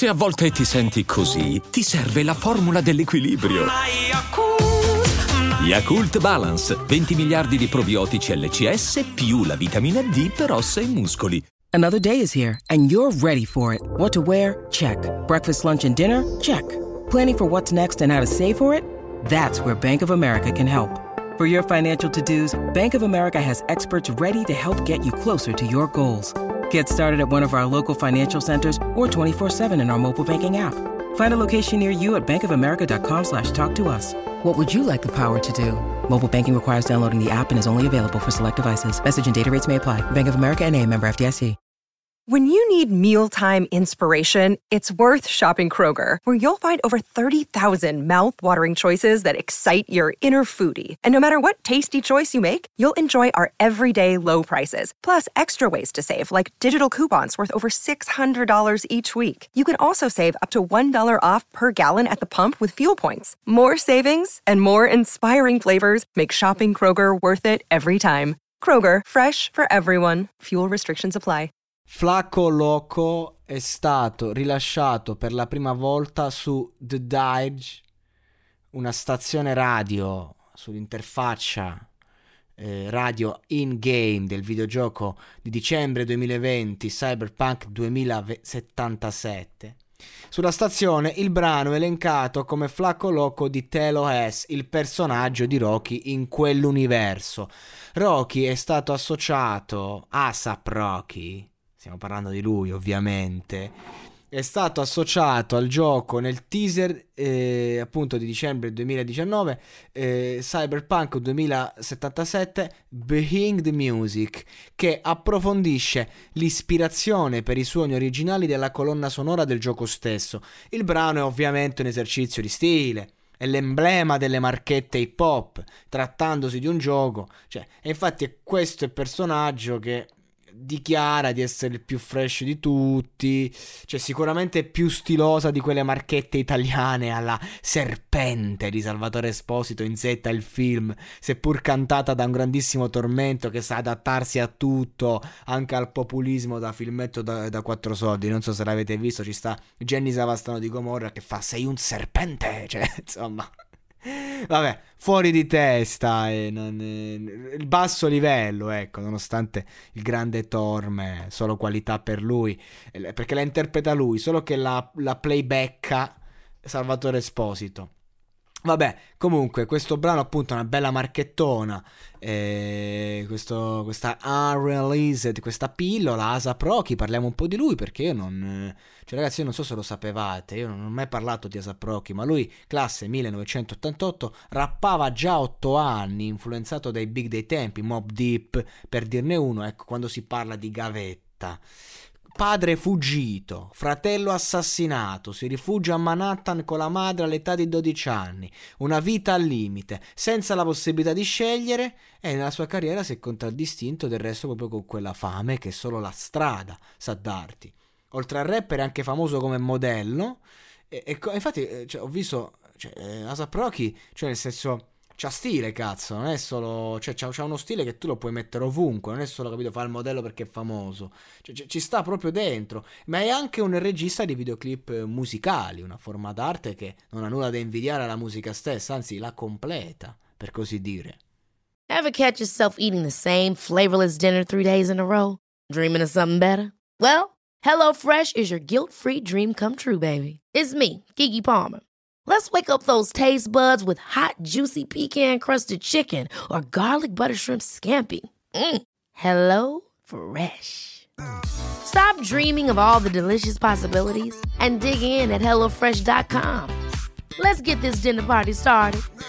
Se a volte ti senti così, ti serve la formula dell'equilibrio. Yakult Balance, 20 miliardi di probiotici LCS più la vitamina D per ossa e muscoli. Another day is here, and you're ready for it. What to wear? Check. Breakfast, lunch, and dinner? Check. Planning for what's next and how to save for it? That's where Bank of America can help. For your financial to-dos, Bank of America has experts ready to help get you closer to your goals. Get started at one of our local financial centers or 24/7 in our mobile banking app. Find a location near you at bankofamerica.com/talktous. What would you like the power to do? Mobile banking requires downloading the app and is only available for select devices. Message and data rates may apply. Bank of America N.A., member FDIC. When you need mealtime inspiration, it's worth shopping Kroger, where you'll find over 30,000 mouth-watering choices that excite your inner foodie. And no matter what tasty choice you make, you'll enjoy our everyday low prices, plus extra ways to save, like digital coupons worth over $600 each week. You can also save up to $1 off per gallon at the pump with fuel points. More savings and more inspiring flavors make shopping Kroger worth it every time. Kroger, fresh for everyone. Fuel restrictions apply. Flaco Loco è stato rilasciato per la prima volta su The Dige, una stazione radio sull'interfaccia radio in-game del videogioco di dicembre 2020 Cyberpunk 2077. Sulla stazione il brano è elencato come Flaco Loco di Telo S, il personaggio di Rocky in quell'universo. Rocky è stato associato, ASAP Rocky, stiamo parlando di lui ovviamente, è stato associato al gioco nel teaser appunto di dicembre 2019 Cyberpunk 2077 Behind the Music, che approfondisce l'ispirazione per i suoni originali della colonna sonora del gioco stesso. Il brano è ovviamente un esercizio di stile, è l'emblema delle marchette hip hop, trattandosi di un gioco, e infatti è questo il personaggio che dichiara di essere il più fresh di tutti, sicuramente più stilosa di quelle marchette italiane alla Serpente di Salvatore Esposito in Z il film, seppur cantata da un grandissimo Tormento che sa adattarsi a tutto, anche al populismo da filmetto da 4 soldi. Non so se l'avete visto, ci sta Jenny Savastano di Gomorra che fa "sei un serpente", insomma, vabbè, fuori di testa il basso livello, ecco, nonostante il grande Torme, solo qualità per lui, perché la interpreta lui, solo che la playbacka Salvatore Esposito. Vabbè, comunque questo brano appunto è una bella marchettona, questa unreleased, questa pillola ASAP Rocky. Parliamo un po' di lui perché io non, ragazzi, io non so se lo sapevate, io non ho mai parlato di ASAP Rocky, ma lui classe 1988, rappava già 8 anni, influenzato dai big dei tempi, Mobb Deep per dirne uno, ecco, quando si parla di gavetta. Padre fuggito, fratello assassinato, si rifugia a Manhattan con la madre all'età di 12 anni, una vita al limite, senza la possibilità di scegliere, e nella sua carriera si è contraddistinto del resto proprio con quella fame che solo la strada sa darti. Oltre al rapper è anche famoso come modello, e infatti ho visto ASAP Rocky, nel senso, c'ha stile, cazzo, non è solo, c'ha uno stile che tu lo puoi mettere ovunque, non è solo, capito, fa il modello perché è famoso, ci sta proprio dentro, ma è anche un regista di videoclip musicali, una forma d'arte che non ha nulla da invidiare alla musica stessa, anzi la completa, per così dire. Ever catch yourself eating the same flavorless dinner 3 days in a row? Dreaming of something better? Well, HelloFresh is your guilt-free dream come true, baby. It's me, Keke Palmer. Let's wake up those taste buds with hot, juicy pecan-crusted chicken or garlic butter shrimp scampi. Hello Fresh. Stop dreaming of all the delicious possibilities and dig in at HelloFresh.com. Let's get this dinner party started.